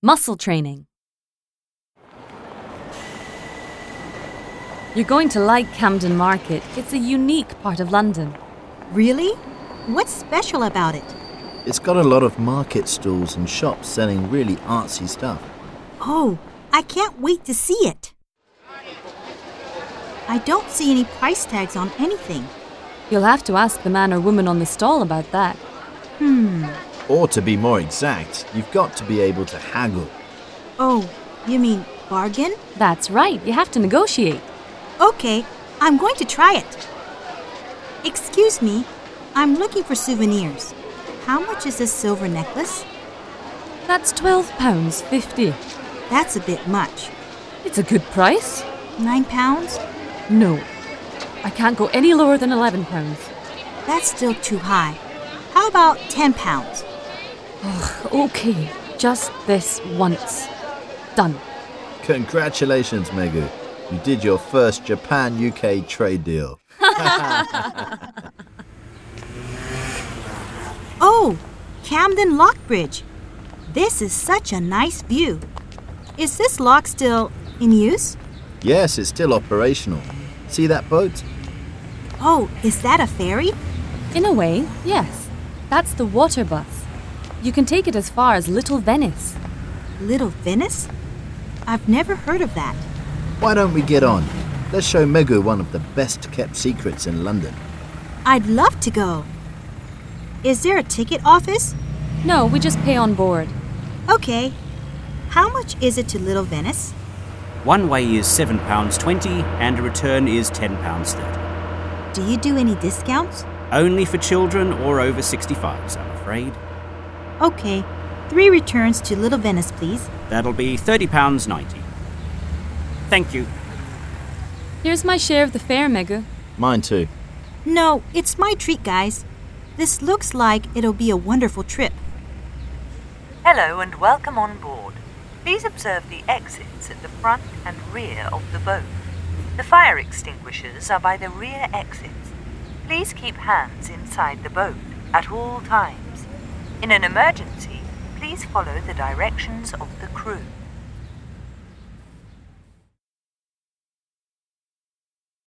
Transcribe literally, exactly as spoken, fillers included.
Muscle training. You're going to like Camden Market. It's a unique part of London. Really? What's special about it? It's got a lot of market stalls and shops selling really artsy stuff. Oh, I can't wait to see it. I don't see any price tags on anything. You'll have to ask the man or woman on the stall about that. Hmm. Or to be more exact, you've got to be able to haggle. Oh, you mean bargain? That's right, you have to negotiate. Okay, I'm going to try it. Excuse me, I'm looking for souvenirs. How much is this silver necklace? That's twelve pounds fifty. That's a bit much. It's a good price. Nine pounds? No, I can't go any lower than eleven pounds. That's still too high. How about ten pounds? Ugh, okay, just this once. Done. Congratulations, Megu. You did your first Japan-U K trade deal. Oh, Camden Lock Bridge. This is such a nice view. Is this lock still in use? Yes, it's still operational. See that boat? Oh, is that a ferry? In a way, yes. That's the water bus. You can take it as far as Little Venice. Little Venice? I've never heard of that. Why don't we get on? Let's show Megu one of the best-kept secrets in London. I'd love to go. Is there a ticket office? No, we just pay on board. Okay. How much is it to Little Venice? One way is seven pounds twenty and a return is ten pounds thirty. Do you do any discounts? Only for children or over sixty-fives, I'm afraid. Okay. Three returns to Little Venice, please. That'll be thirty pounds ninety. Thank you. Here's my share of the fare, Megu. Mine too. No, it's my treat, guys. This looks like it'll be a wonderful trip. Hello and welcome on board. Please observe the exits at the front and rear of the boat. The fire extinguishers are by the rear exits. Please keep hands inside the boat at all times. In an emergency, please follow the directions of the crew.